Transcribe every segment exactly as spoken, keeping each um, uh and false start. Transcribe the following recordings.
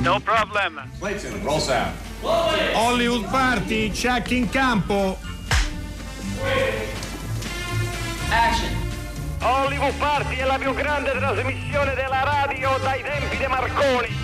No problem. Clayton, roll sound. Hollywood Party, check in campo. Action. Hollywood Party è la più grande trasmissione della radio dai tempi di Marconi.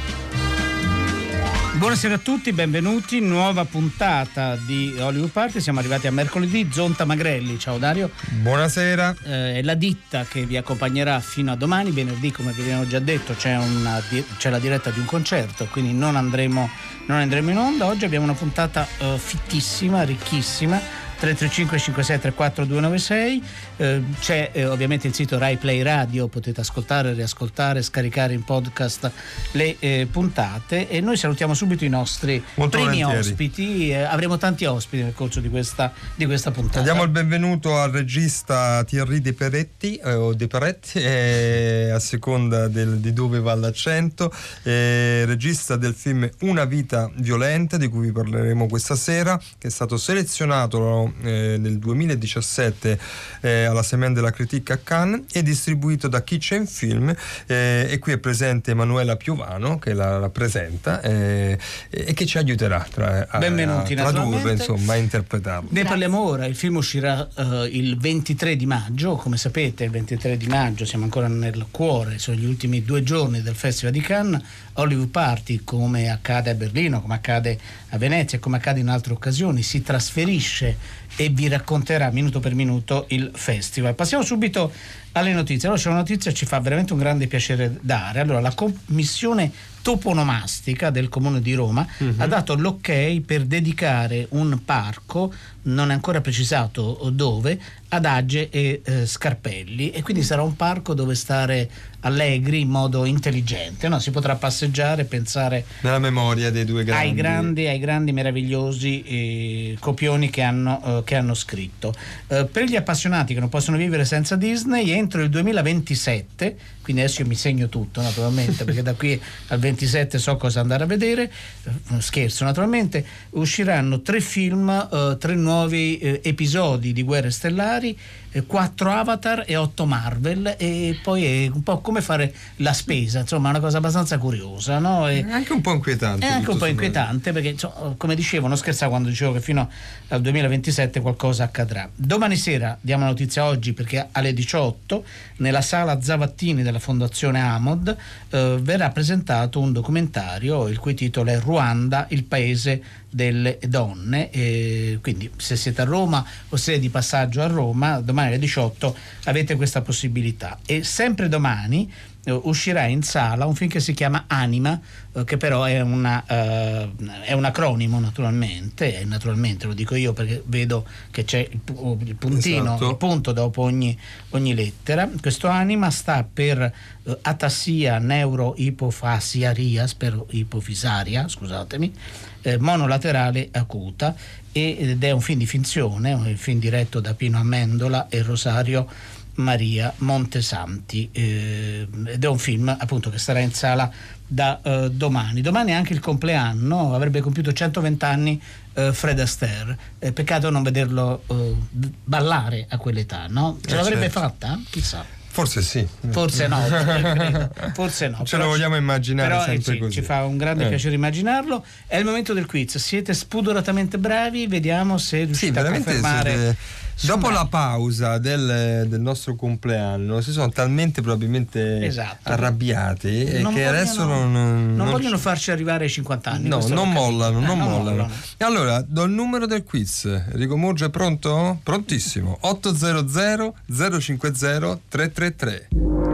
Buonasera a tutti, benvenuti, nuova puntata di Hollywood Party. Siamo arrivati a mercoledì. Zonta Magrelli, ciao Dario. Buonasera. Eh, è la ditta che vi accompagnerà fino a domani. Venerdì, come vi abbiamo già detto, c'è, una, c'è la diretta di un concerto, quindi non andremo, non andremo in onda. Oggi abbiamo una puntata eh, fittissima, ricchissima. tre tre cinque cinque sei tre quattro due nove sei, eh, c'è eh, ovviamente il sito Rai Play Radio, potete ascoltare, riascoltare, scaricare in podcast le eh, puntate, e noi salutiamo subito i nostri Molto primi volentieri. ospiti. Eh, avremo tanti ospiti nel corso di questa, di questa puntata. Diamo il benvenuto al regista Thierry De Peretti, eh, o De Peretti, eh, a seconda del, di dove va l'accento, eh, regista del film Una vita violenta, di cui vi parleremo questa sera, che è stato selezionato Eh, nel duemiladiciassette eh, alla Semaine de la Critique a Cannes e distribuito da Kitchen Film, eh, e qui è presente Emanuela Piovano che la rappresenta eh, e che ci aiuterà tra, a, Benvenuti, a tradurre, naturalmente. insomma, a interpretarlo. Ne parliamo ora. Il film uscirà uh, il ventitré di maggio, come sapete il ventitré di maggio siamo ancora nel cuore, sono gli ultimi due giorni del Festival di Cannes. Hollywood Party, come accade a Berlino, come accade a Venezia e come accade in altre occasioni, si trasferisce e vi racconterà minuto per minuto il festival. Passiamo subito alle notizie. Allora, c'è una notizia che ci fa veramente un grande piacere dare. Allora, la commissione toponomastica del Comune di Roma uh-huh. ha dato l'ok per dedicare un parco, non è ancora precisato dove, ad Age e eh, Scarpelli, e quindi sarà un parco dove stare allegri in modo intelligente, no? Si potrà passeggiare, pensare nella memoria dei due grandi ai grandi, ai grandi meravigliosi eh, copioni che hanno, eh, che hanno scritto. Eh, per gli appassionati che non possono vivere senza Disney, entro il duemilaventisette, quindi adesso io mi segno tutto naturalmente perché da qui al ventisette so cosa andare a vedere, eh, scherzo naturalmente, usciranno tre film, eh, tre nuovi eh, episodi di Guerre Stellari, eh, quattro Avatar e otto Marvel, e poi è un po' come fare la spesa, insomma è una cosa abbastanza curiosa, no? E è anche un po' inquietante, è anche un po' inquietante perché, insomma, come dicevo, non scherzavo quando dicevo che fino al duemilaventisette qualcosa accadrà. Domani sera diamo la notizia, oggi perché alle diciotto nella sala Zavattini della Fondazione Amod eh, verrà presentato un documentario il cui titolo è Ruanda, il paese delle donne, e quindi se siete a Roma o siete di passaggio a Roma, domani alle diciotto avete questa possibilità. E sempre domani eh, uscirà in sala un film che si chiama Anima, eh, che però è, una, eh, è un acronimo naturalmente, e naturalmente lo dico io perché vedo che c'è il, il puntino, esatto. il punto dopo ogni, ogni lettera. Questo Anima sta per eh, atassia neuroipofasiaria, spero ipofisaria, scusatemi, eh, monolaterale acuta, ed è un film di finzione, un film diretto da Pino Amendola e Rosario Maria Montesanti, eh, ed è un film appunto che starà in sala da eh, domani. Domani è anche il compleanno, avrebbe compiuto centoventi anni eh, Fred Astaire, eh, peccato non vederlo eh, ballare a quell'età, no? Ce eh l'avrebbe certo. fatta? Chissà. Forse sì. Forse no, credo. Forse no. Ce lo vogliamo immaginare però, sempre eh, sì, così. Ci fa un grande eh. piacere immaginarlo. È il momento del quiz. Siete spudoratamente bravi, vediamo se riuscite sì, a veramente confermare. Siete... Dopo Insomma, la pausa del, del nostro compleanno si sono talmente probabilmente esatto. arrabbiati e non che vogliono, adesso non, non, non vogliono farci arrivare ai cinquanta anni. No, non mollano, eh, non, non mollano. mollano. E allora, do il numero del quiz. Enrico Murgia è pronto? Prontissimo. otto zero zero zero cinque zero tre tre tre.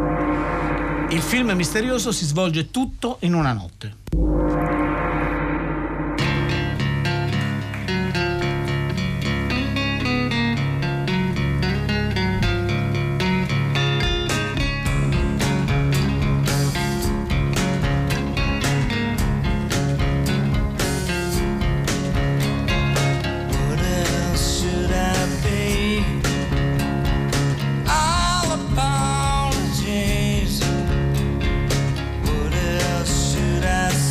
Il film misterioso si svolge tutto in una notte. What else should I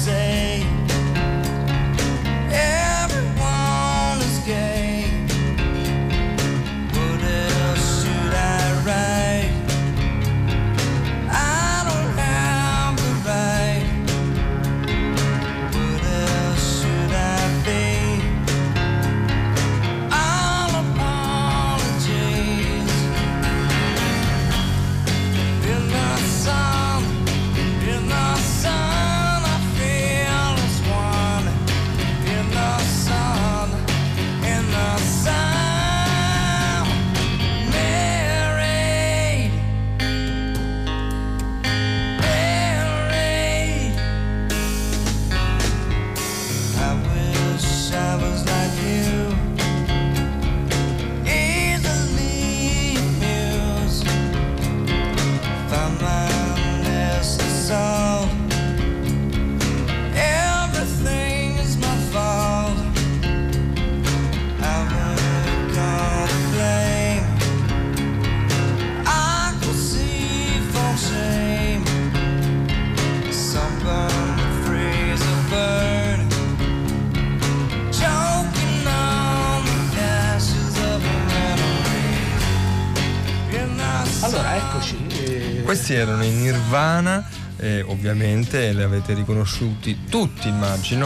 Questi erano i Nirvana, eh, ovviamente li avete riconosciuti tutti, immagino,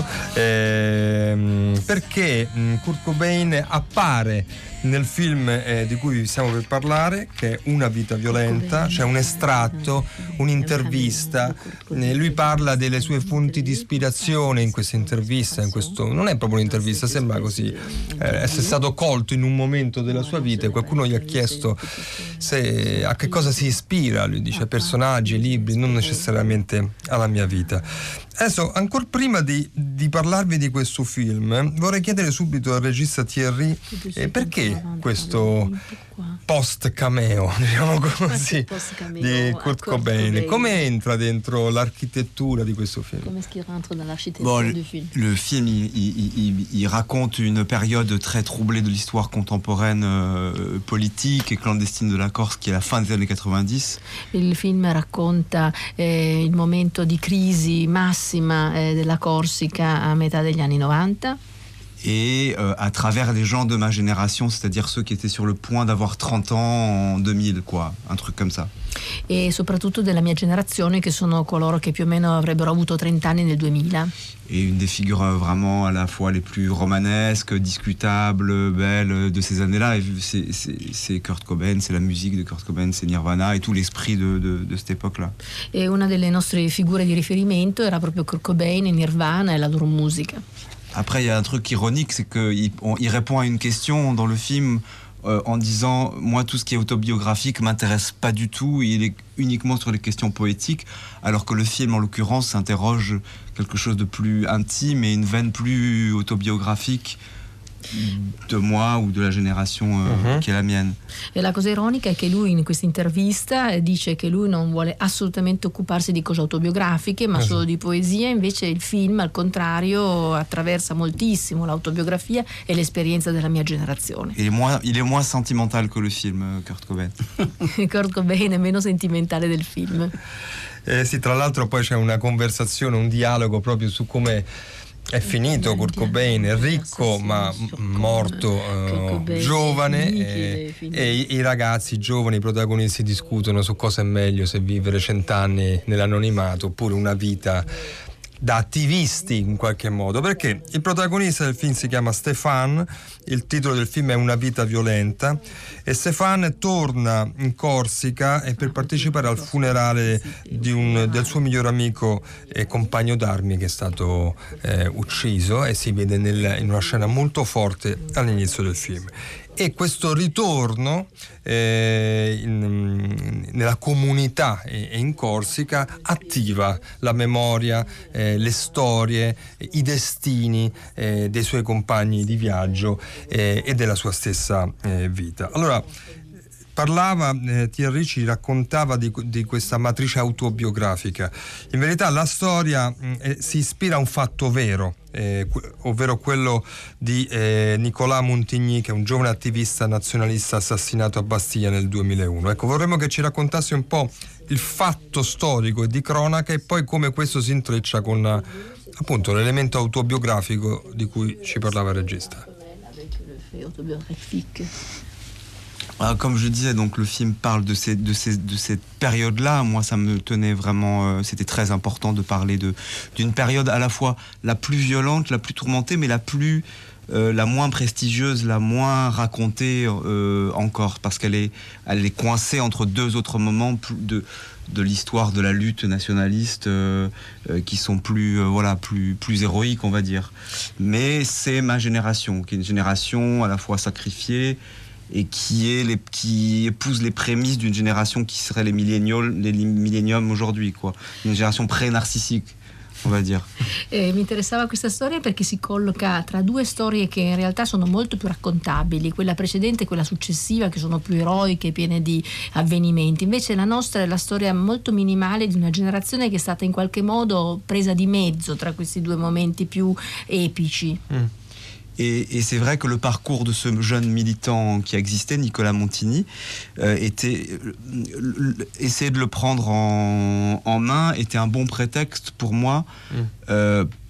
eh, perché mh, Kurt Cobain appare nel film eh, di cui stiamo per parlare, che è Una vita violenta. C'è un estratto, un'intervista, eh, lui parla delle sue fonti di ispirazione in questa intervista, in questo, non è proprio un'intervista, sembra così, eh, essere stato colto in un momento della sua vita e qualcuno gli ha chiesto se, a che cosa si ispira, lui dice personaggi, libri, non necessariamente alla mia vita. Adesso, ancora prima di, di parlarvi di questo film, vorrei chiedere subito al regista Thierry eh, perché questo post cameo, diciamo così, di Kurt Cobain. Come entra dentro l'architettura di questo film? Bon, le, le film, il, il, il, il raconte une période très troublée de l'histoire contemporaine euh, politique et clandestine de la Corse, qui est la fin des années quatre-vingt-dix. Il film racconta eh, il momento di crisi massima eh, della Corsica a metà degli anni novanta. Et euh, à travers les gens de ma génération, c'est-à-dire ceux qui étaient sur le point d'avoir trente ans en deux mille, quoi, un truc comme ça. E soprattutto della mia generazione, che sono coloro che più o meno avrebbero avuto trenta anni nel duemila. Et une des figures vraiment à la fois les plus romanesques, discutables, belles de ces années-là, c'est, c'est, c'est Kurt Cobain, c'est la musique de Kurt Cobain, c'est Nirvana et tout l'esprit de, de, de cette époque-là. E una delle nostre figure di riferimento era proprio Kurt Cobain, Nirvana e la loro musica. Après, il y a un truc ironique, c'est qu'il il répond à une question dans le film euh, en disant « Moi, tout ce qui est autobiographique m'intéresse pas du tout, il est uniquement sur les questions poétiques », alors que le film, en l'occurrence, s'interroge quelque chose de plus intime et une veine plus autobiographique de moi ou de la génération euh, uh-huh. che è la mienne. E la cosa ironica è che lui in questa intervista dice che lui non vuole assolutamente occuparsi di cose autobiografiche, ma uh-huh. solo di poesia. Invece il film, al contrario, attraversa moltissimo l'autobiografia e l'esperienza della mia generazione. Il est moins, il est moins sentimental que le film, Kurt Cobain. Kurt Cobain è meno sentimentale del film. Eh sì, tra l'altro poi c'è una conversazione, un dialogo proprio su come è finito Kurt Cobain, è ricco ma morto uh, giovane, e, e i, i ragazzi i giovani, i protagonisti discutono su cosa è meglio, se vivere cent'anni nell'anonimato oppure una vita da attivisti in qualche modo, perché il protagonista del film si chiama Stéphane, il titolo del film è Una vita violenta e Stéphane torna in Corsica e per partecipare al funerale di un, del suo miglior amico e compagno d'armi che è stato eh, ucciso, e si vede nel, in una scena molto forte all'inizio del film. E questo ritorno eh, in, nella comunità e, e in Corsica attiva la memoria, eh, le storie, i destini eh, dei suoi compagni di viaggio eh, e della sua stessa eh, vita. Allora, parlava, eh, Thierry ci raccontava di, di questa matrice autobiografica. In verità la storia mh, eh, si ispira a un fatto vero, eh, ovvero quello di eh, Nicolas Montigny, che è un giovane attivista nazionalista assassinato a Bastiglia nel duemilauno. Ecco, vorremmo che ci raccontassi un po' il fatto storico e di cronaca e poi come questo si intreccia con appunto l'elemento autobiografico di cui ci parlava il regista. Comme je disais, donc le film parle de, ces, de, ces, de cette période-là. Moi, ça me tenait vraiment... Euh, c'était très important de parler de, d'une période à la fois la plus violente, la plus tourmentée, mais la plus... Euh, la moins prestigieuse, la moins racontée euh, encore, parce qu'elle est, elle est coincée entre deux autres moments de, de l'histoire de la lutte nationaliste euh, euh, qui sont plus, euh, voilà, plus, plus héroïques, on va dire. Mais c'est ma génération, qui est une génération à la fois sacrifiée, et qui, est les, qui épouse les prémices d'une génération qui serait les millénials, les milléniums aujourd'hui, quoi. Une génération pré-narcissique, on va dire. Eh, mi interessava questa storia perché si colloca tra due storie che in realtà sono molto più raccontabili, quella precedente e quella successiva, che sono più eroiche, piene di avvenimenti. Invece la nostra è la storia molto minimale di una generazione che è stata in qualche modo presa di mezzo tra questi due momenti più epici. Mm. Et, et c'est vrai que le parcours de ce jeune militant qui existait, Nicolas Montigny, euh, était euh, essayer de le prendre en, en main était un bon prétexte pour moi, mmh. euh,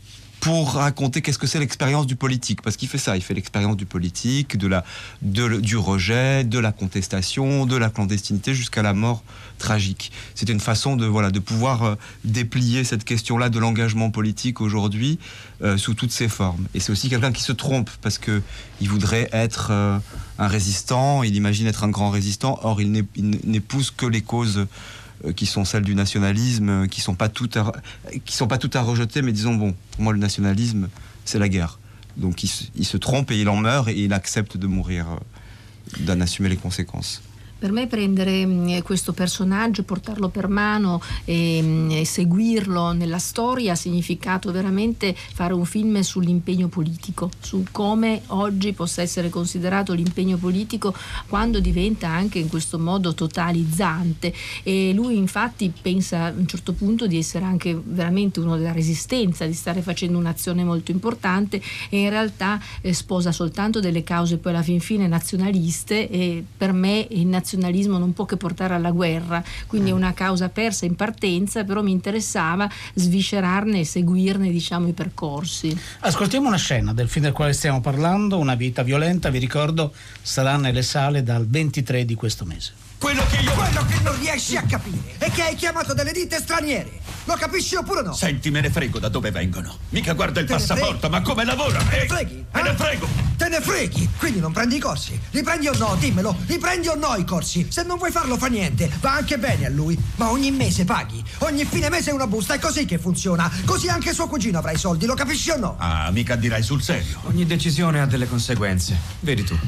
pour raconter qu'est-ce que c'est l'expérience du politique, parce qu'il fait ça, il fait l'expérience du politique, de la, de, du rejet, de la contestation, de la clandestinité jusqu'à la mort tragique. C'était une façon de, voilà, de pouvoir euh, déplier cette question-là de l'engagement politique aujourd'hui euh, sous toutes ses formes. Et c'est aussi quelqu'un qui se trompe, parce que il voudrait être euh, un résistant, il imagine être un grand résistant, or il n'épouse que les causes qui sont celles du nationalisme, qui sont pas toutes à, qui sont pas toutes à rejeter, mais disons, bon, pour moi le nationalisme c'est la guerre, donc il, il se trompe et il en meurt et il accepte de mourir, d'en assumer les conséquences. Per me prendere questo personaggio, portarlo per mano e, e seguirlo nella storia ha significato veramente fare un film sull'impegno politico, su come oggi possa essere considerato l'impegno politico quando diventa anche in questo modo totalizzante. E lui infatti pensa a un certo punto di essere anche veramente uno della resistenza, di stare facendo un'azione molto importante, e in realtà eh, sposa soltanto delle cause poi alla fin fine nazionaliste, e per me il nazionalismo Il nazionalismo non può che portare alla guerra, quindi è una causa persa in partenza, però mi interessava sviscerarne e seguirne, diciamo, i percorsi. Ascoltiamo una scena del film del quale stiamo parlando, Una vita violenta, vi ricordo sarà nelle sale dal ventitré di questo mese. Quello che io... Quello che non riesci a capire è che hai chiamato delle ditte straniere. Lo capisci oppure no? Senti, me ne frego da dove vengono. Mica guarda il Te ne passaporto, freghi? ma come lavora? Te ne Eh, freghi? Me ne eh? frego! Te ne freghi? Quindi non prendi i corsi? Li prendi o no? Dimmelo. Li prendi o no i corsi? Se non vuoi farlo fa niente. Va anche bene a lui. Ma ogni mese paghi. Ogni fine mese una busta. È così che funziona. Così anche suo cugino avrà i soldi. Lo capisci o no? Ah, mica dirai sul serio. Ogni decisione ha delle conseguenze. Vedi tu.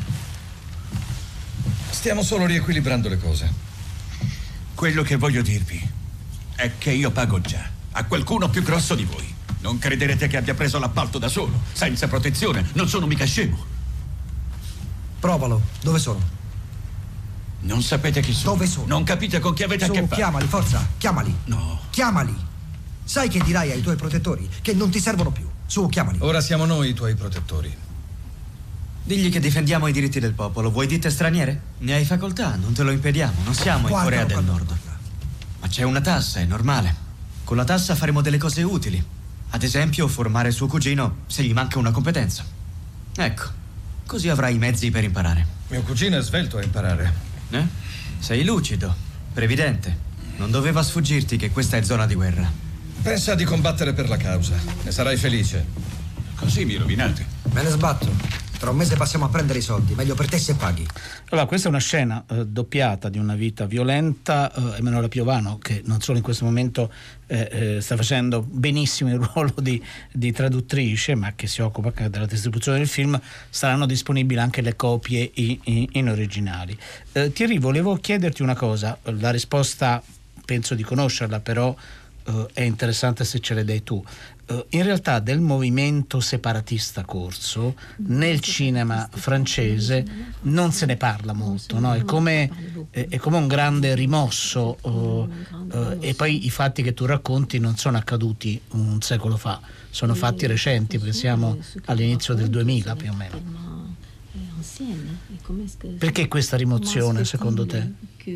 Stiamo solo riequilibrando le cose. Quello che voglio dirvi è che io pago già a qualcuno più grosso di voi. Non crederete che abbia preso l'appalto da solo, senza protezione. Non sono mica scemo. Provalo. Dove sono? Non sapete chi sono. Dove sono? Non capite con chi avete Su, a che fare. chiamali, forza. Chiamali. No. Chiamali. Sai che dirai ai tuoi protettori che non ti servono più. Su, chiamali. Ora siamo noi i tuoi protettori. Digli che difendiamo i diritti del popolo. Vuoi ditte straniere? Ne hai facoltà, non te lo impediamo. Non siamo in Guardalo, Corea del guardalo, Nord. guardalo. Ma c'è una tassa, è normale. Con la tassa faremo delle cose utili. Ad esempio, formare suo cugino se gli manca una competenza. Ecco, così avrai i mezzi per imparare. Mio cugino è svelto a imparare. Eh? Sei lucido, previdente. Non doveva sfuggirti che questa è zona di guerra. Pensa di combattere per la causa. Ne sarai felice. Così mi rovinate. Me ne sbatto. Tra un mese passiamo a prendere i soldi. Meglio per te se paghi. Allora, questa è una scena eh, doppiata di Una vita violenta. eh, Emanuela Piovano, che non solo in questo momento eh, eh, sta facendo benissimo il ruolo di, di traduttrice, ma che si occupa anche della distribuzione del film, saranno disponibili anche le copie in, in, in originali. Eh, Thierry, volevo chiederti una cosa, la risposta penso di conoscerla, però eh, è interessante se ce le dai tu. In realtà del movimento separatista corso nel cinema francese non se ne parla molto, no? È come, è come un grande rimosso, uh, uh, e poi i fatti che tu racconti non sono accaduti un secolo fa, sono fatti recenti, perché siamo all'inizio del duemila più o meno. Perché questa rimozione secondo te?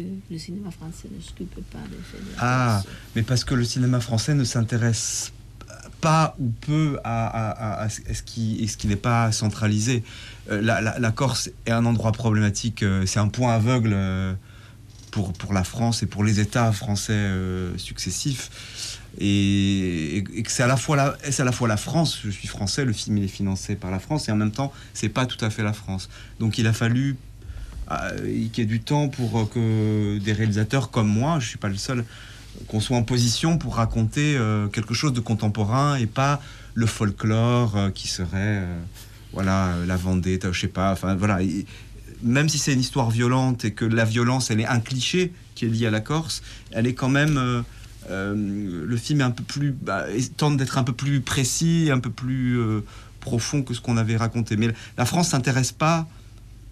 Ah, mais parce que le cinéma français ne s'intéresse pas ou peu à, à, à, à ce qui, ce qui n'est pas centralisé. Euh, la, la, la Corse est un endroit problématique, euh, c'est un point aveugle euh, pour, pour la France et pour les États français euh, successifs. Et, et, et que c'est à la fois la, c'est à la fois la France, je suis français, le film il est financé par la France, et en même temps, c'est pas tout à fait la France. Donc il a fallu euh, qu'il y ait du temps pour que des réalisateurs comme moi, je suis pas le seul, qu'on soit en position pour raconter euh, quelque chose de contemporain et pas le folklore euh, qui serait euh, voilà la Vendetta, je sais pas, enfin voilà, et, même si c'est une histoire violente et que la violence elle est un cliché qui est lié à la Corse, elle est quand même euh, euh, le film est un peu plus bah, tente d'être un peu plus précis, un peu plus euh, profond que ce qu'on avait raconté. Mais la France s'intéresse pas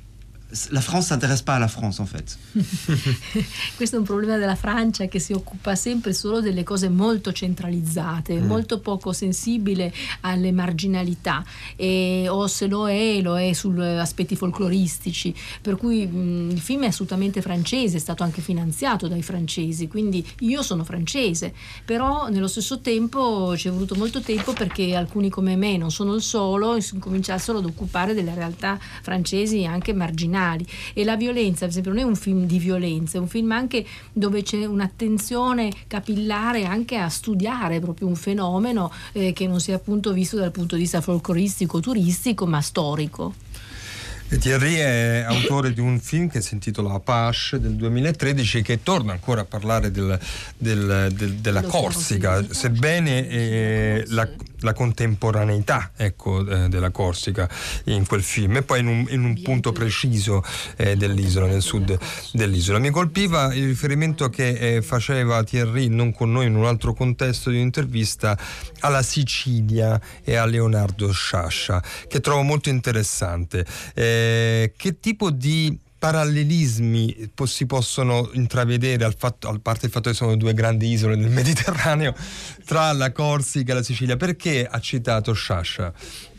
la France s'intéresse pas à la France en fait. Questo è un problema della Francia, che si occupa sempre solo delle cose molto centralizzate, mm. molto poco sensibile alle marginalità, e o se lo è lo è su aspetti folcloristici, per cui mh, il film è assolutamente francese, è stato anche finanziato dai francesi, quindi io sono francese, però nello stesso tempo ci è voluto molto tempo perché alcuni come me, non sono il solo, cominciassero ad occupare delle realtà francesi anche marginali. E la violenza, per esempio, non è un film di violenza, è un film anche dove c'è un'attenzione capillare anche a studiare proprio un fenomeno eh, che non sia appunto visto dal punto di vista folcloristico, turistico, ma storico. Thierry è autore di un film che si intitola Apache del duemilatredici, che torna ancora a parlare del, del, del, della Corsica, sebbene eh, la, la contemporaneità, ecco, eh, della Corsica in quel film, e poi in un, in un punto preciso eh, dell'isola, nel sud dell'isola. Mi colpiva il riferimento che eh, faceva Thierry, non con noi, in un altro contesto di un'intervista, alla Sicilia e a Leonardo Sciascia, che trovo molto interessante. Eh, che tipo di parallelismi si possono intravedere, al fatto, a parte il fatto che sono due grandi isole nel Mediterraneo, tra la Corsica e la Sicilia? Perché ha citato Sciascia?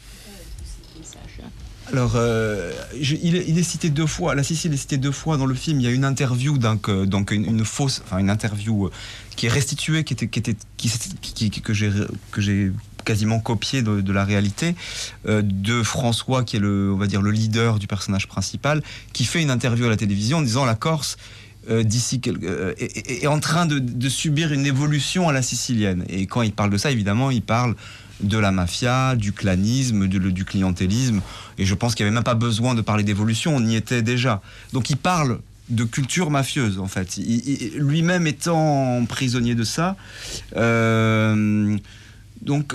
Alors, euh, je, il, il est cité deux fois. La Sicile est citée deux fois dans le film. Il y a une interview, donc, donc une, une fausse, enfin une interview qui est restituée, qui était, qui était, qui, qui, qui, que j'ai, que j'ai quasiment copié de, de la réalité, euh, de François, qui est le, on va dire, le leader du personnage principal, qui fait une interview à la télévision en disant la Corse euh, d'ici euh, est, est, est en train de, de subir une évolution à la sicilienne. Et quand il parle de ça, évidemment, il parle de la mafia, du clanisme, du, du clientélisme, et je pense qu'il n'y avait même pas besoin de parler d'évolution, on y était déjà. Donc il parle de culture mafieuse, en fait, il, il, lui-même étant prisonnier de ça. Euh, donc,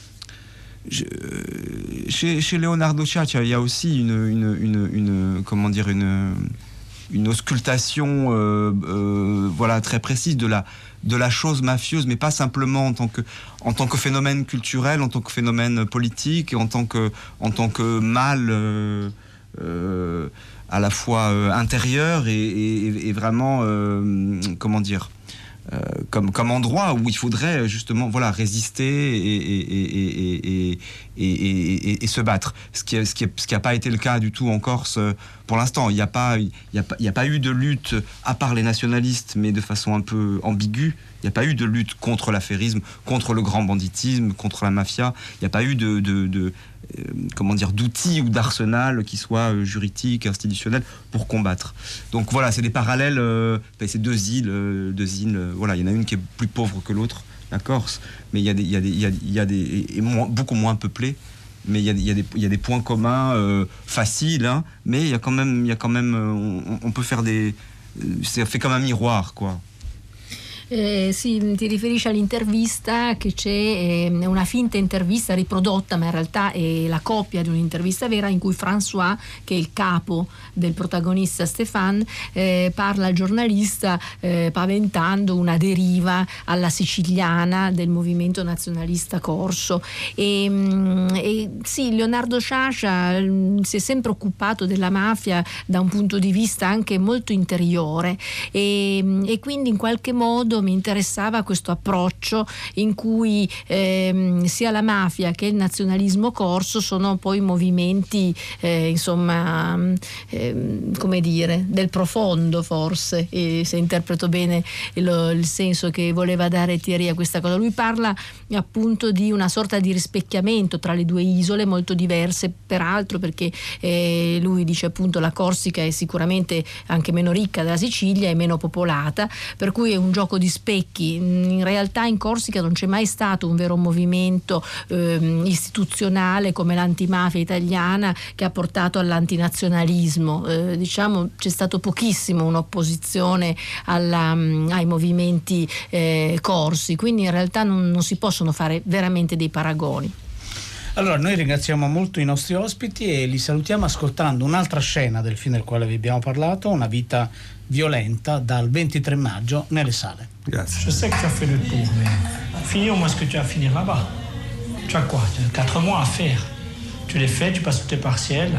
je, chez, chez Leonardo Sciascia, il y a aussi une, une, une, une comment dire, une, une auscultation, euh, euh, voilà, très précise de la de la chose mafieuse, mais pas simplement en tant que, en tant que phénomène culturel, en tant que phénomène politique, en tant que, en tant que mal euh, euh, à la fois euh, intérieur et, et, et vraiment, euh, comment dire, euh, comme, comme endroit où il faudrait justement, voilà, résister et, et, et, et, et, et, et, et se battre. Ce qui n'a ce qui ce qui a pas été le cas du tout en Corse pour l'instant. Il n'y a pas, il y a pas, il y a pas eu de lutte, à part les nationalistes, mais de façon un peu ambiguë. Il n'y a pas eu de lutte contre l'affairisme, contre le grand banditisme, contre la mafia. Il n'y a pas eu de, de, de euh, comment dire, d'outils ou d'arsenal qui soient euh, juridiques, institutionnels pour combattre. Donc voilà, c'est des parallèles. Euh, c'est deux îles, euh, deux îles. Euh, voilà, il y en a une qui est plus pauvre que l'autre, la Corse, mais il y a des, il y a des, il y a, il y a des et moins, beaucoup moins peuplées. Mais il y a, il y a des, il y a des points communs euh, faciles, hein, mais il y a quand même, il y a quand même, on, on peut faire des, c'est fait comme un miroir, quoi. Eh, sì, ti riferisci all'intervista che c'è, eh, una finta intervista riprodotta, ma in realtà è la copia di un'intervista vera in cui François, che è il capo del protagonista Stéphane, eh, parla al giornalista eh, paventando una deriva alla siciliana del movimento nazionalista corso. E, e sì, Leonardo Sciascia si è sempre occupato della mafia da un punto di vista anche molto interiore, e, e quindi in qualche modo mi interessava questo approccio in cui ehm, sia la mafia che il nazionalismo corso sono poi movimenti eh, insomma ehm, come dire, del profondo, forse, e se interpreto bene il, il senso che voleva dare Thierry a questa cosa. Lui parla appunto di una sorta di rispecchiamento tra le due isole molto diverse, peraltro, perché eh, lui dice appunto la Corsica è sicuramente anche meno ricca della Sicilia e meno popolata, per cui è un gioco di specchi. In realtà in Corsica non c'è mai stato un vero movimento eh, istituzionale come l'antimafia italiana che ha portato all'antinazionalismo. Eh, diciamo c'è stato pochissimo un'opposizione alla, ai movimenti eh, corsi, quindi in realtà non, non si possono fare veramente dei paragoni. Allora, noi ringraziamo molto i nostri ospiti e li salutiamo ascoltando un'altra scena del film del quale vi abbiamo parlato, Una vita violenta, dal ventitré maggio nelle sale. Grazie. Je sais que tu as fait le tour, mais finis au moins ce que tu as à finir là-bas. Tu as quoi? Tu as quatre mois à faire. Tu les fais, tu passes tous tes partiels,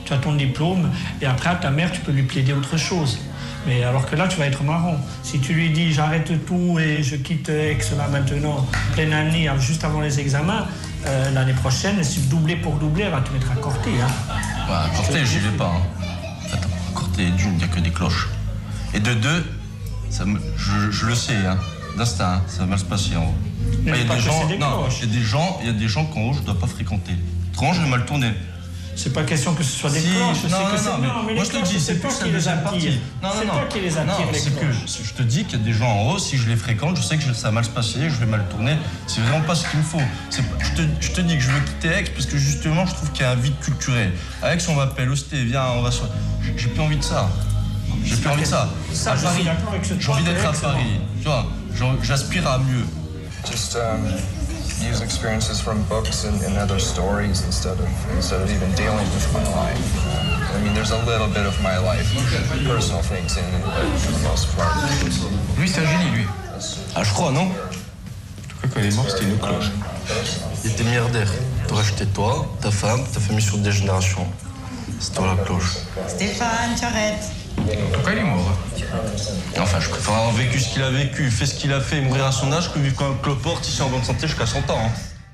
tu as ton diplôme, et après à ta mère, tu peux lui plaider autre chose. Mais alors que là, tu vas être marrant. Si tu lui dis j'arrête tout et je quitte Aix là maintenant, pleine année, juste avant les examens, euh, l'année prochaine, si doubler pour doubler, elle va te mettre à Corté. Hein. Ouais, à Corté, j'y vais pas. Hein. Attends, à Corté, d'une, il n'y a que des cloches. Et de deux, ça me, je, je le sais, hein, d'instinct, hein, ça va mal se passer en haut. Il y a des gens, non, il y a des gens, il y a des gens qu'en haut, je ne dois pas fréquenter. Autrement, je vais mal tourner. C'est pas question que ce soit des si, cloches. Non, non, que non, mais, non, mais moi je te dis, c'est pas plus qui les attire. Non, non, c'est non. pas qui les attire, non, les c'est cloches. que je te dis qu'il y a des gens en haut, si je les fréquente, je sais que ça va mal se passer, je vais mal tourner. C'est vraiment pas ce qu'il me faut. C'est, je, te, je te dis que je veux quitter Aix parce que justement, je trouve qu'il y a un vide culturel. À Aix, on m'appelle, Osté, viens, on va se. J'ai plus envie de ça. J'ai plus envie de ça. Ça, à je Paris, suis d'accord avec ce j'ai envie d'être à Paris. Tu vois, j'aspire à mieux. Just um, use experiences from books and, and other stories instead of instead of even dealing with my life. Uh, I mean, there's a little bit of my life, personal things in it, but for the most part. Lui, c'est un génie, lui. Ah, je crois, non? En tout cas, quand il est mort, c'était une cloche. Il était milliardaire. T'aurais acheté toi, ta femme, ta famille sur des générations. C'est toi la cloche. Stéphane, j'arrête. En tout cas, il est mort. Enfin, je préfère avoir vécu ce qu'il a vécu, fait ce qu'il a fait, mourir à son âge, que vivre comme un cloporte ici en bonne santé jusqu'à cent ans. Hein.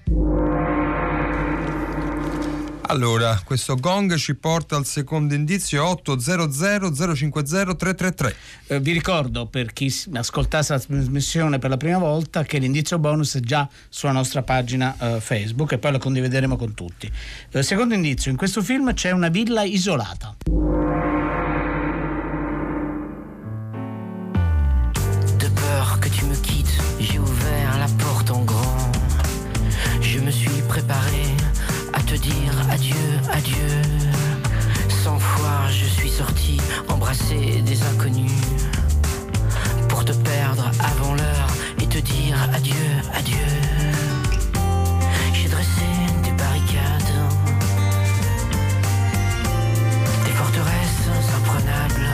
Allora, questo gong ci porta al secondo indizio, otto zero zero zero cinque zero tre tre tre. Eh, vi ricordo, per chi ascoltasse la trasmissione per la prima volta, che l'indizio bonus è già sulla nostra pagina eh, Facebook e poi lo condivideremo con tutti. Eh, secondo indizio, in questo film c'è una villa isolata. Que tu me quittes, j'ai ouvert la porte en grand. Je me suis préparé à te dire adieu, adieu. Cent fois je suis sorti embrasser des inconnus pour te perdre avant l'heure et te dire adieu, adieu. J'ai dressé des barricades, des forteresses imprenables.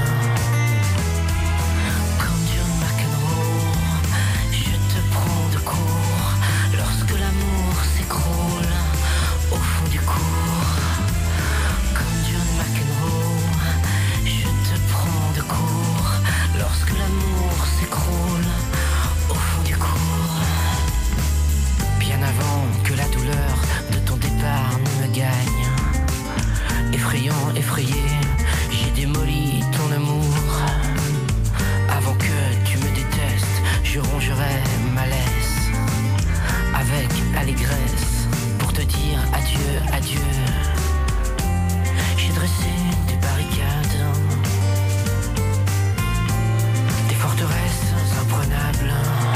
Lorsque l'amour s'écroule au fond du cours, comme John McEnroe, je te prends de court. Lorsque l'amour s'écroule au fond du cours, bien avant que la douleur de ton départ ne me gagne, effrayant, effrayé, j'ai démoli ton amour. Avant que tu me détestes, je rongerai ma laisse avec allégresse pour te dire adieu, adieu. J'ai dressé des barricades, des forteresses imprenables.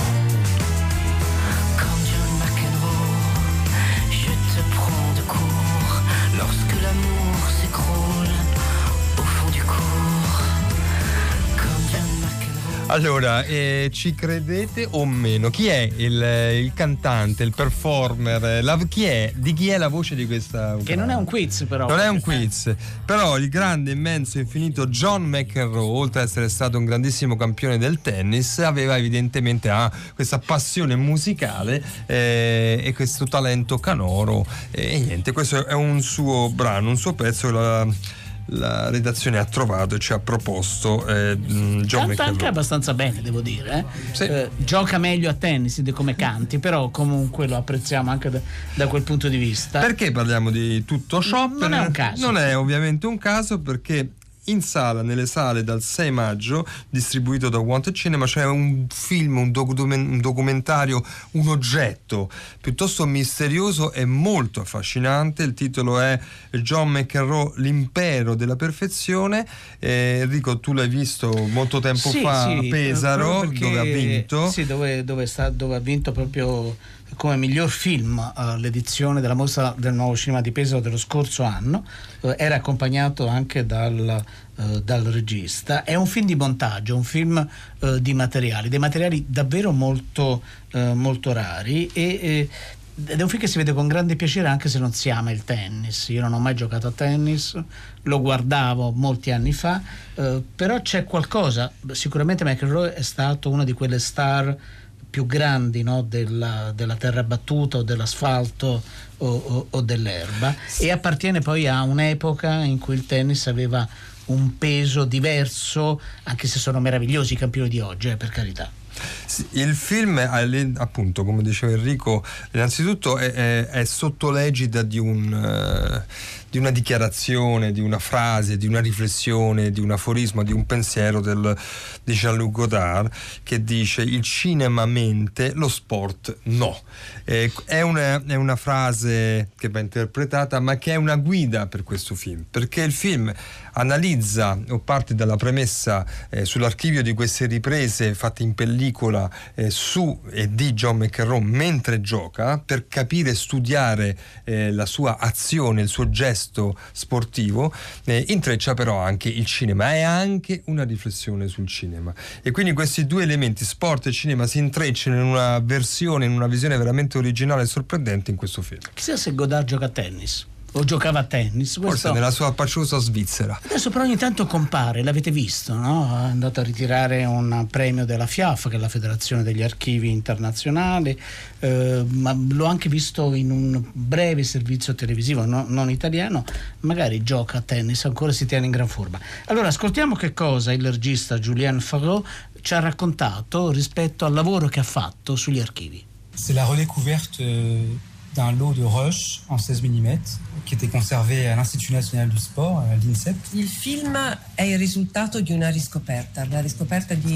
Comme John McEnroe, je te prends de court. Lorsque l'amour s'écroule au fond du cours, comme John McEnroe. Allora, eh, ci credete o meno? Chi è il, il cantante, il performer? La, chi è? Di chi è la voce di questa? Che non è un quiz, però. Non è un quiz, però il grande, immenso, infinito John McEnroe, oltre ad essere stato un grandissimo campione del tennis, aveva evidentemente ah, questa passione musicale eh, e questo talento canoro. E niente, questo è un suo brano, un suo pezzo. La, la redazione ha trovato e ci ha proposto eh, John Canta McEnroe. anche abbastanza bene, devo dire eh? Sì. Eh, gioca meglio a tennis di come canti, però comunque lo apprezziamo anche da, da quel punto di vista. Perché parliamo di tutto ciò? Non è un caso. Non è ovviamente un caso, perché in sala, nelle sale dal sei maggio, distribuito da Wanted Cinema, c'è un film, un, document- un documentario, un oggetto piuttosto misterioso e molto affascinante. Il titolo è John McEnroe, l'impero della perfezione. eh, Enrico, tu l'hai visto molto tempo sì, fa sì, a Pesaro, perché, dove ha vinto. Sì, dove, dove, sta, dove ha vinto proprio come miglior film all'edizione della mostra del nuovo cinema di Pesaro dello scorso anno. Eh, era accompagnato anche dal, eh, dal regista. È un film di montaggio, un film eh, di materiali, dei materiali davvero molto, eh, molto rari e eh, ed è un film che si vede con grande piacere anche se non si ama il tennis. Io non ho mai giocato a tennis, lo guardavo molti anni fa, eh, però c'è qualcosa. Sicuramente McEnroe è stato una di quelle star più grandi, no, della, della terra battuta o dell'asfalto o, o, o dell'erba, e appartiene poi a un'epoca in cui il tennis aveva un peso diverso, anche se sono meravigliosi i campioni di oggi, eh, per carità. Sì, il film, appunto, come diceva Enrico, innanzitutto è, è, è sotto l'egida di un... Uh, di una dichiarazione, di una frase, di una riflessione, di un aforisma, di un pensiero del, di Jean-Luc Godard, che dice: il cinema mente, lo sport no. Eh, è, una, è una frase che va interpretata, ma che è una guida per questo film, perché il film analizza o parte dalla premessa eh, sull'archivio di queste riprese fatte in pellicola eh, su e di John McEnroe mentre gioca, per capire e studiare eh, la sua azione, il suo gesto sportivo, eh, intreccia però anche il cinema, è anche una riflessione sul cinema, e quindi questi due elementi, sport e cinema, si intrecciano in una versione, in una visione veramente originale e sorprendente in questo film. Chissà se Godard gioca a tennis o giocava a tennis, questo... forse nella sua paciosa Svizzera. Adesso però ogni tanto compare, l'avete visto, no? È andato a ritirare un premio della F I A F, che è la Federazione degli Archivi Internazionali, eh, ma l'ho anche visto in un breve servizio televisivo, no, non italiano. Magari gioca a tennis, ancora si tiene in gran forma. Allora ascoltiamo che cosa il regista Julien Favreau ci ha raccontato rispetto al lavoro che ha fatto sugli archivi. C'est la redécouverte d'un lot de roches en seize millimetri che était conservé à l'Institut National du Sport, l'INSEP. Il film è il risultato di una riscoperta, la riscoperta di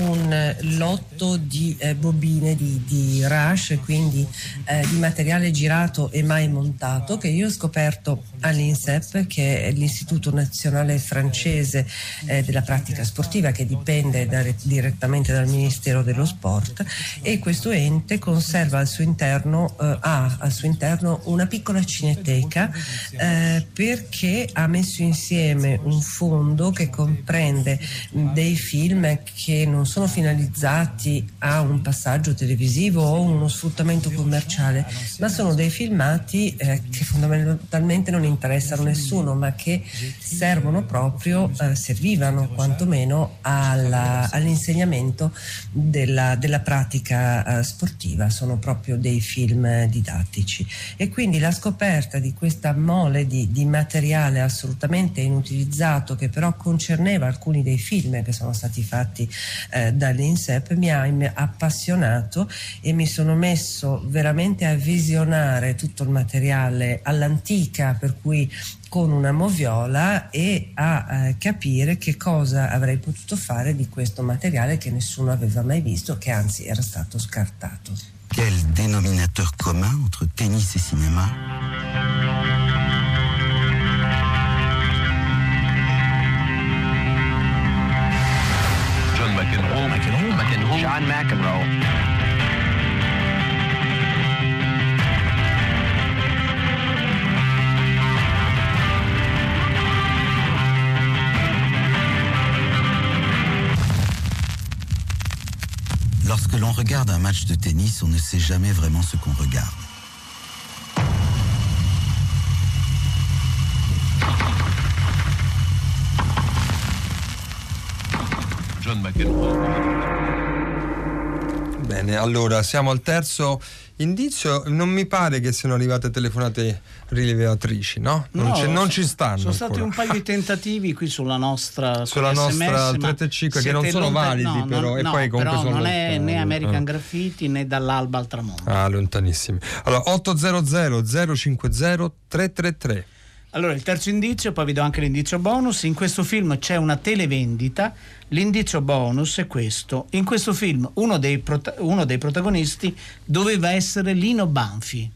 un lotto di eh, bobine di, di rush, quindi eh, di materiale girato e mai montato, che io ho scoperto all'INSEP, che è l'Istituto Nazionale Francese eh, della Pratica Sportiva, che dipende da, direttamente dal Ministero dello Sport, e questo ente conserva al suo interno, eh, ha al suo interno una piccola cineteca, eh, perché ha messo insieme un fondo che comprende dei film che non sono finalizzati a un passaggio televisivo o uno sfruttamento commerciale, ma sono dei filmati eh, che fondamentalmente non interessano nessuno, ma che servono proprio, eh, servivano quantomeno alla, all'insegnamento della, della pratica eh, sportiva. Sono proprio dei film didattici, e quindi la scoperta di questa mole di, di materiale assolutamente inutilizzato, che però concerneva alcuni dei film che sono stati fatti eh, dall'INSEP, mi ha appassionato, e mi sono messo veramente a visionare tutto il materiale all'antica, per cui con una moviola, e a eh, capire che cosa avrei potuto fare di questo materiale che nessuno aveva mai visto, che anzi era stato scartato. Quel dénominateur commun entre tennis et cinéma? John McEnroe, McEnroe, McEnroe, John McEnroe. Lorsque l'on regarde un match de tennis, on ne sait jamais vraiment ce qu'on regarde. John McEnroe. Bene, allora siamo al terzo indizio. Non mi pare che siano arrivate telefonate rilevatrici, no? Non, no, c'è, non ci stanno. Sono stati ancora. un paio di tentativi qui sulla nostra sulla nostra tre tre cinque, che non sono lontan- validi, no, però, non, e no, poi comunque però sono non è lontani. né American eh. Graffiti né Dall'alba al tramonto. Ah, lontanissimi. Allora otto zero zero zero cinque zero tre tre tre. Allora, il terzo indizio, poi vi do anche l'indizio bonus. In questo film c'è una televendita. L'indizio bonus è questo: in questo film uno dei, prota- uno dei protagonisti doveva essere Lino Banfi.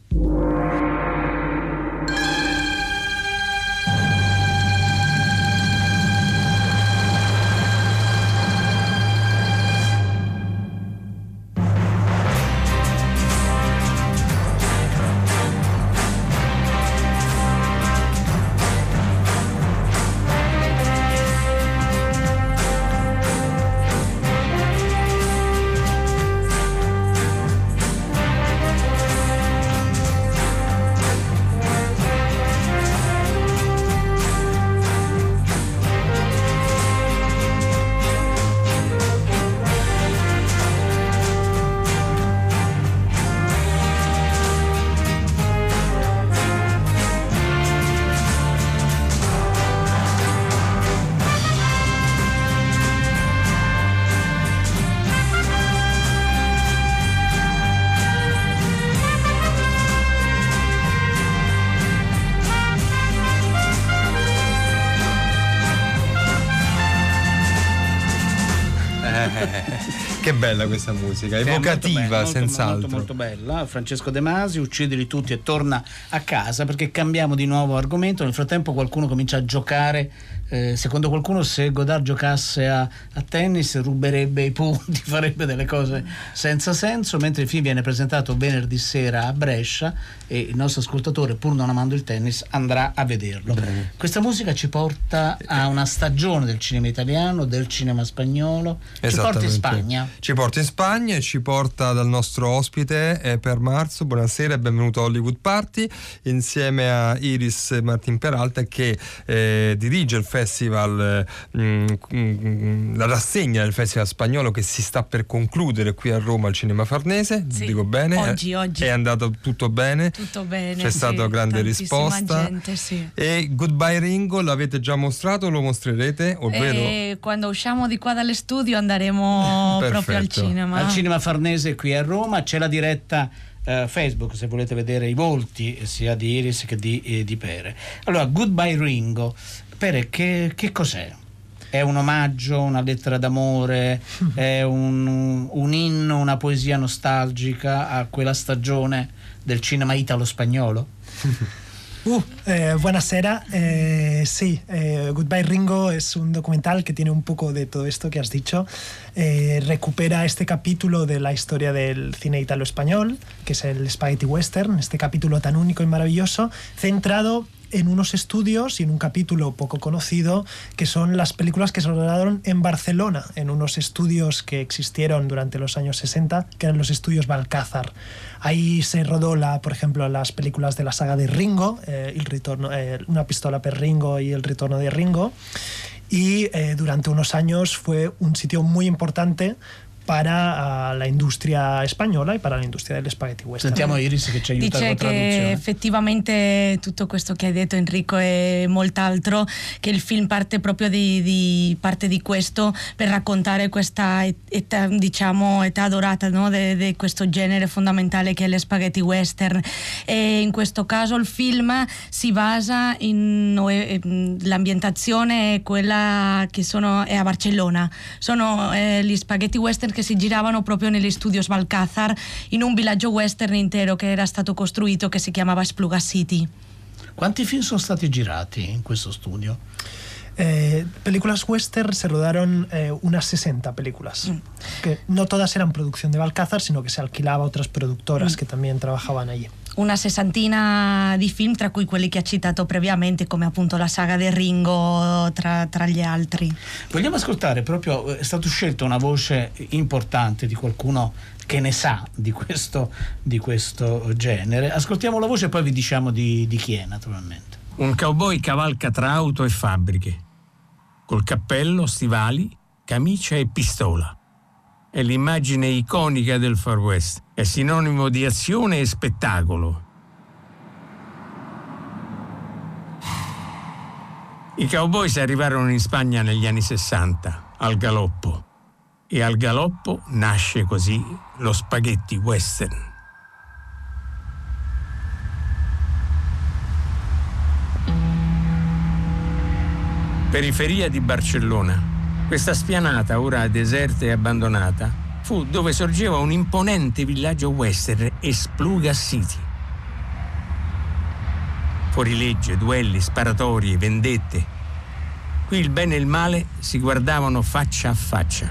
Che bella questa musica, Sì, evocativa, molto be- senz'altro. molto, molto bella. Francesco De Masi, Uccidili tutti e torna a casa, perché cambiamo di nuovo argomento. Nel frattempo qualcuno comincia a giocare. Eh, secondo qualcuno, se Godard giocasse a, a tennis ruberebbe i punti, farebbe delle cose senza senso, mentre il film viene presentato venerdì sera a Brescia e il nostro ascoltatore, pur non amando il tennis, andrà a vederlo. Bene. Questa musica ci porta a una stagione del cinema italiano, del cinema spagnolo, ci porta in Spagna. Ci porta in Spagna e ci porta dal nostro ospite eh, per marzo. Buonasera e benvenuto a Hollywood Party, insieme a Iris Martin Peralta, che eh, dirige il festival, mh, mh, la rassegna del festival spagnolo che si sta per concludere qui a Roma al Cinema Farnese. Sì, dico bene? oggi, oggi. È andato tutto bene? Tutto bene. C'è stata sì, grande risposta. Gente, sì. E Goodbye Ringo l'avete già mostrato o lo mostrerete? Ovvero... E quando usciamo di qua dallo studio andremo proprio al cinema. Al Cinema Farnese qui a Roma c'è la diretta Uh, Facebook, se volete vedere i volti sia di Iris che di, eh, di Pere. Allora, Goodbye Ringo. Pere, che, che cos'è? È un omaggio, una lettera d'amore, è un, un inno, una poesia nostalgica a quella stagione del cinema italo-spagnolo? Uh, eh, buonasera. Eh, sí, eh, Goodbye Ringo es un documental que tiene un poco de todo esto que has dicho. Eh, recupera este capítulo de la historia del cine italo-español, que es el Spaghetti Western, este capítulo tan único y maravilloso, centrado en unos estudios y en un capítulo poco conocido que son las películas que se rodaron en Barcelona, en unos estudios que existieron durante los años sesenta, que eran los estudios Balcázar. Ahí se rodó, la, por ejemplo, las películas de la saga de Ringo, eh, el ritorno, eh, Una pistola per Ringo y El ritorno de Ringo, y eh, durante unos años fue un sitio muy importante para uh, la industria spagnola e para l'industria delle spaghetti western. Sentiamo Iris che ci aiuta Dice con la traduzione. che effettivamente tutto questo che hai detto Enrico e molt'altro, che il film parte proprio di, di parte di questo per raccontare questa età, diciamo età dorata, no? di questo genere fondamentale che è le spaghetti western, e in questo caso il film si basa in l'ambientazione è quella che sono è a Barcellona, sono eh, gli spaghetti western che si giravano proprio negli studios Balcázar, in un villaggio western intero che era stato costruito, che si chiamava Espluga City. Quanti film sono stati girati in questo studio? Eh, películas western se rodaron eh, unas sesenta películas, mm. que no todas eran producción de Balcázar, sino que se alquilaba a otras productoras mm. que también trabajaban allí. Una sessantina di film, tra cui quelli che ha citato previamente, come appunto la saga di Ringo, tra, tra gli altri. Vogliamo ascoltare proprio, è stata scelta una voce importante di qualcuno che ne sa di questo, di questo genere. Ascoltiamo la voce e poi vi diciamo di, di chi è, naturalmente. Un cowboy cavalca tra auto e fabbriche, col cappello, stivali, camicia e pistola. È l'immagine iconica del Far West, è sinonimo di azione e spettacolo. I cowboys arrivarono in Spagna negli anni sessanta, al galoppo, e al galoppo nasce così lo spaghetti western. Periferia di Barcellona. Questa spianata, ora deserta e abbandonata, fu dove sorgeva un imponente villaggio western, Espluga City. Fuorilegge, duelli, sparatorie, vendette. Qui il bene e il male si guardavano faccia a faccia.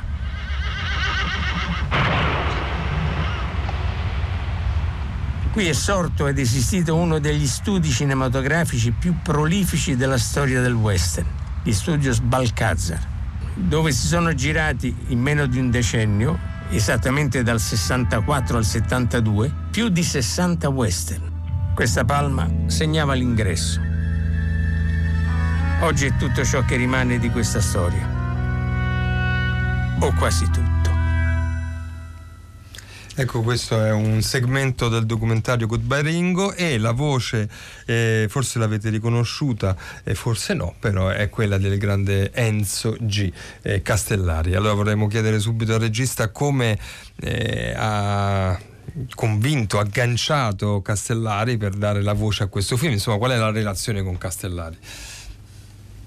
Qui è sorto ed esistito uno degli studi cinematografici più prolifici della storia del western, gli Studios Balcázar, dove si sono girati in meno di un decennio, esattamente dal sessantaquattro al settantadue, più di sessanta western. Questa palma segnava l'ingresso. Oggi è tutto ciò che rimane di questa storia, o quasi tutto. Ecco, questo è un segmento del documentario Goodbye Ringo, e la voce eh, forse l'avete riconosciuta e forse no, però è quella del grande Enzo G. Eh, Castellari. Allora vorremmo chiedere subito al regista come eh, ha convinto, agganciato Castellari per dare la voce a questo film, insomma qual è la relazione con Castellari?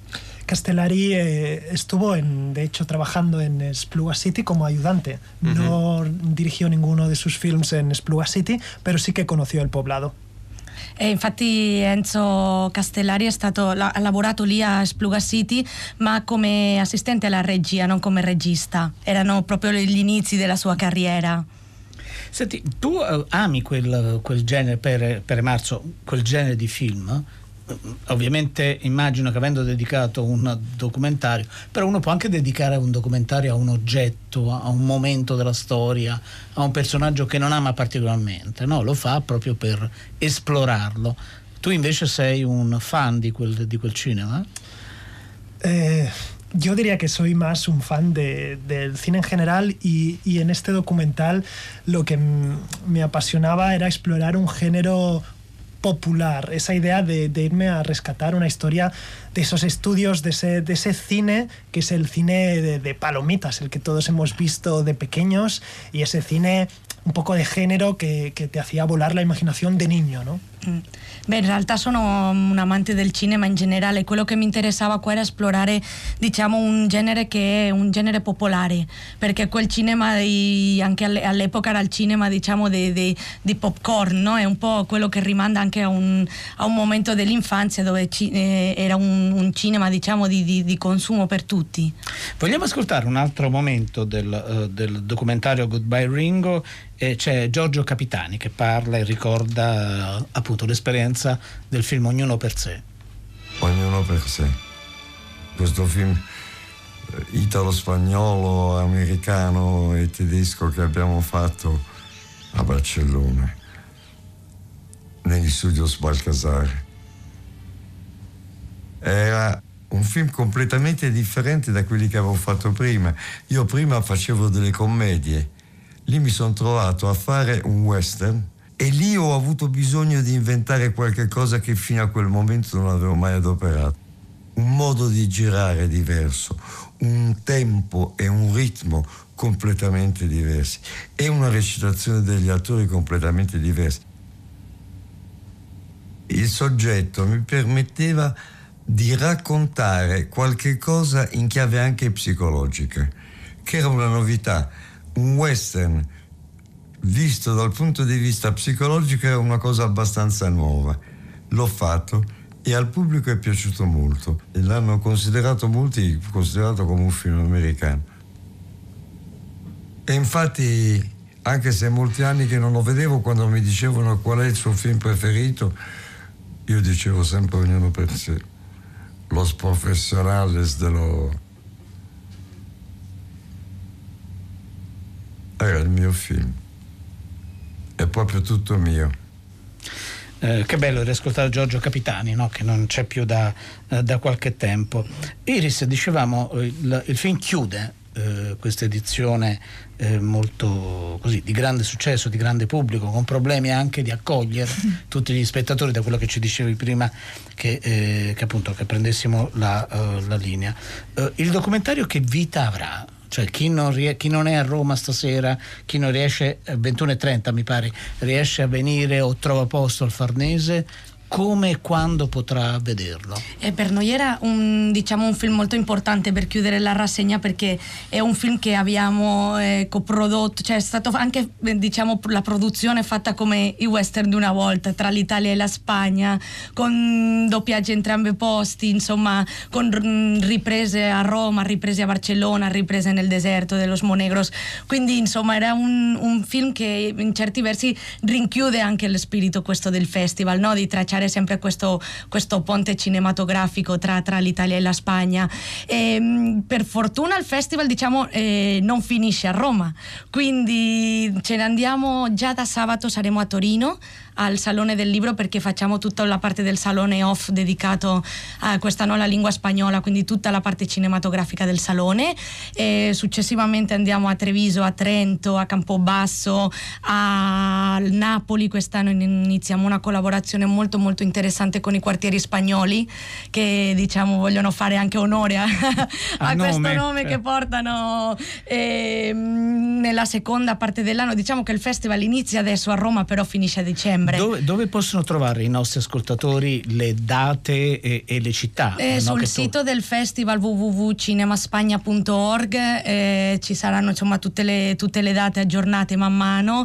Castellari eh, estuvo, en, de hecho, trabajando en Espluga City como ayudante. Uh-huh. No dirigió ninguno de sus films en Espluga City, pero sí que conoció el poblado. E infatti Enzo Castellari è stato, ha lavorato lì a Espluga City, ma come assistente alla regia, non come regista. Erano proprio gli inizi della sua carriera. Senti, tu uh, ami quel, quel genere, per, per Marzo, quel genere di film? Ovviamente immagino che avendo dedicato un documentario, però uno può anche dedicare un documentario a un oggetto, a un momento della storia, a un personaggio che non ama particolarmente, no? Lo fa proprio per esplorarlo. Tu invece sei un fan di quel, di quel cinema? Eh, yo diría que soy más un fan de, del cine en general y, y en este documental lo que m- me apasionaba era explorar un género popular, esa idea de, de irme a rescatar una historia de esos estudios, de ese, de ese cine que es el cine de, de palomitas, el que todos hemos visto de pequeños, y ese cine un poco de género que, que te hacía volar la imaginación de niño, ¿no? Mm. Beh, in realtà sono un amante del cinema in generale. Quello che mi interessava qua era esplorare, diciamo, un genere che è un genere popolare, perché quel cinema di, anche all'epoca era il cinema, diciamo, di, di, di popcorn, no? È un po' quello che rimanda anche a un, a un momento dell'infanzia dove ci, eh, era un, un cinema, diciamo, di, di, di consumo per tutti. Vogliamo ascoltare un altro momento del, uh, del documentario Goodbye Ringo. E c'è Giorgio Capitani che parla e ricorda uh, appunto l'esperienza del film Ognuno per sé. Ognuno per sé. Questo film italo-spagnolo, americano e tedesco che abbiamo fatto a Barcellona, negli studios Balcazar. Era un film completamente differente da quelli che avevo fatto prima. Io prima facevo delle commedie. Lì mi sono trovato a fare un western e lì ho avuto bisogno di inventare qualche cosa che fino a quel momento non avevo mai adoperato. Un modo di girare diverso, un tempo e un ritmo completamente diversi e una recitazione degli attori completamente diversi. Il soggetto mi permetteva di raccontare qualche cosa in chiave anche psicologica, che era una novità. Un western visto dal punto di vista psicologico è una cosa abbastanza nuova. L'ho fatto e al pubblico è piaciuto molto e l'hanno considerato molti considerato come un film americano. E infatti, anche se molti anni che non lo vedevo, quando mi dicevano qual è il suo film preferito, io dicevo sempre Ognuno per sé. Los Profesionales dello... Era il mio film, è proprio tutto mio. Eh, che bello riascoltare Giorgio Capitani, no? Che non c'è più da, eh, da qualche tempo. Iris, dicevamo, il, il film chiude eh, questa edizione eh, molto così di grande successo, di grande pubblico, con problemi anche di accogliere tutti gli spettatori, da quello che ci dicevi prima che, eh, che appunto che prendessimo la, uh, la linea. Uh, il documentario che vita avrà? Cioè chi non, rie- chi non è a Roma stasera, chi non riesce, ventuno e trenta mi pare, riesce a venire o trova posto al Farnese, come e quando potrà vederlo? E per noi era un, diciamo, un film molto importante per chiudere la rassegna, perché è un film che abbiamo eh, coprodotto, cioè è stato anche, diciamo, la produzione fatta come i western di una volta, tra l'Italia e la Spagna, con doppiaggi entrambi posti, insomma, con riprese a Roma, riprese a Barcellona, riprese nel deserto dello Monegros. Quindi insomma era un, un film che in certi versi rinchiude anche lo spirito questo del festival, no? Di tracciare sempre questo, questo ponte cinematografico tra, tra l'Italia e la Spagna. E, per fortuna il festival, diciamo, eh, non finisce a Roma, quindi ce ne andiamo già da sabato, saremo a Torino al Salone del Libro, perché facciamo tutta la parte del salone off dedicato a questa nuova lingua spagnola, quindi tutta la parte cinematografica del salone. E successivamente andiamo a Treviso, a Trento, a Campobasso, a Napoli. Quest'anno iniziamo una collaborazione molto molto molto interessante con i quartieri spagnoli che diciamo vogliono fare anche onore a, a questo nome, nome che portano eh, nella seconda parte dell'anno. Diciamo che il festival inizia adesso a Roma, però finisce a dicembre. Dove, dove possono trovare i nostri ascoltatori le date e, e le città? Eh, no? sul Che sito tu... del festival w w w punto cinemaspagna punto org eh, ci saranno insomma tutte le, tutte le date aggiornate man mano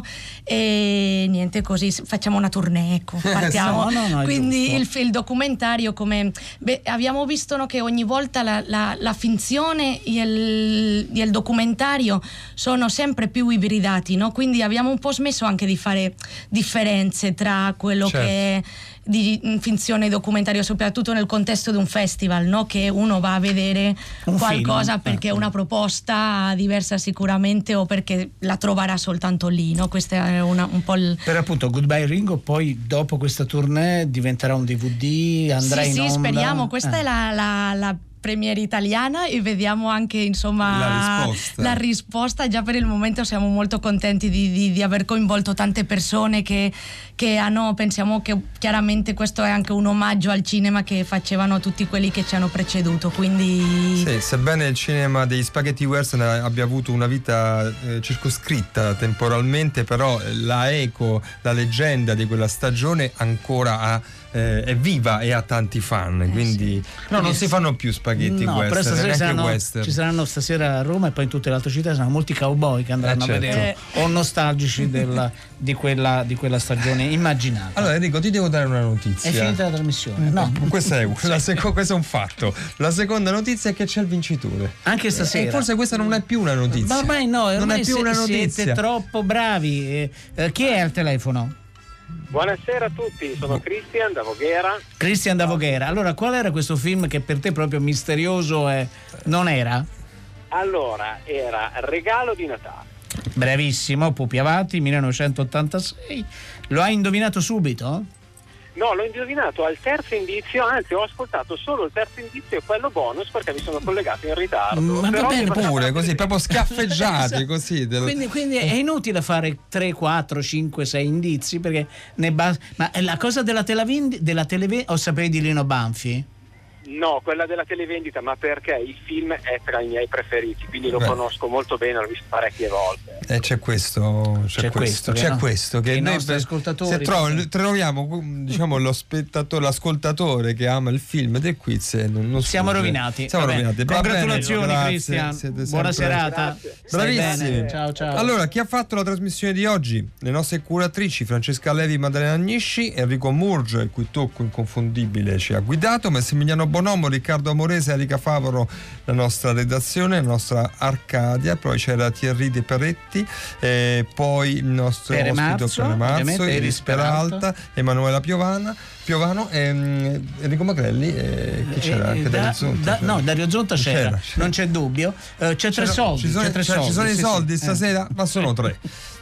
e niente, così facciamo una tournée, ecco, partiamo. no, no, no, quindi il, il documentario, come beh, abbiamo visto, no, che ogni volta la, la, la finzione e il, e il documentario sono sempre più ibridati, no? Quindi abbiamo un po' smesso anche di fare differenze tra quello certo. che è di finzione e documentario, soprattutto nel contesto di un festival, no? Che uno va a vedere un qualcosa film. Perché è una proposta diversa sicuramente o perché la troverà soltanto lì, no? Questa è una, un po' il... Per appunto Goodbye Ringo poi dopo questa tournée diventerà un D V D, andrà sì, in sì, onda? Sì, speriamo, questa eh. è la, la, la premiere italiana e vediamo anche insomma la risposta. la risposta. Già per il momento siamo molto contenti di, di, di aver coinvolto tante persone che, che hanno, pensiamo che chiaramente questo è anche un omaggio al cinema che facevano tutti quelli che ci hanno preceduto, quindi sì, sebbene il cinema degli spaghetti western abbia avuto una vita eh, circoscritta temporalmente, però la eco, la leggenda di quella stagione ancora ha Eh, è viva e ha tanti fan, quindi sì. no, non si fanno più spaghetti no, western, però stasera saranno, western. ci saranno stasera a Roma e poi in tutte le altre città saranno molti cowboy che andranno eh, certo. a vedere o nostalgici della, di, quella, di quella stagione immaginata. Allora Enrico, ti devo dare una notizia. È finita la trasmissione? No, questa è una, seco, questo è un fatto. La seconda notizia è che c'è il vincitore anche stasera, e forse questa non è più una notizia. Ma ormai no, ormai non è più se, una notizia. Siete troppo bravi. Eh, eh, chi è al telefono? Buonasera a tutti, sono Christian da Voghera. Christian da Voghera. Allora, qual era questo film che per te proprio misterioso e non era? Allora, era Regalo di Natale. Bravissimo, Pupi Avati, millenovecentottantasei. Lo hai indovinato subito? No, l'ho indovinato al terzo indizio, anzi ho ascoltato solo il terzo indizio e quello bonus perché mi sono collegato in ritardo. Ma Però va bene pure, così, proprio schiaffeggiati così. Del... Quindi, quindi è inutile fare tre, quattro, cinque, sei indizi perché ne basta. Ma la cosa della televendita, della televen- o sapevi di Lino Banfi? No, quella della televendita, ma perché il film è tra i miei preferiti, quindi lo Beh. conosco molto bene, l'ho visto parecchie volte. Eh, c'è questo, c'è, c'è questo, questo, c'è no? questo che i noi nostri ascoltatori se troviamo, troviamo diciamo lo spettatore, l'ascoltatore che ama il film del quiz e non, non siamo sfugge. rovinati. Siamo Vabbè. rovinati. Congratulazioni Cristian, buona sempre... serata. Bravissimi. Ciao ciao. Allora, chi ha fatto la trasmissione di oggi? Le nostre curatrici Francesca Levi, Maddalena Agnisci, Enrico Murgio, il cui tocco inconfondibile ci ha guidato, Massimiliano Bonomo, Riccardo Amorese, Erika Favoro, la nostra redazione, la nostra Arcadia, poi c'era Thierry De Peretti, eh, poi il nostro Pere ospite Marzo, Pere Marzo, Iris Iris Peralta, Emanuela Piovana, Piovano, ehm, Enrico Magrelli, eh, che c'era anche da, Dario Zonta. Da, no, Dario Zonta c'era, c'era, c'era. Non c'è dubbio. Uh, c'è tre soldi. Ci sono, c'è tre cioè, soldi, ci sono sì, i soldi sì. stasera, eh. ma sono tre.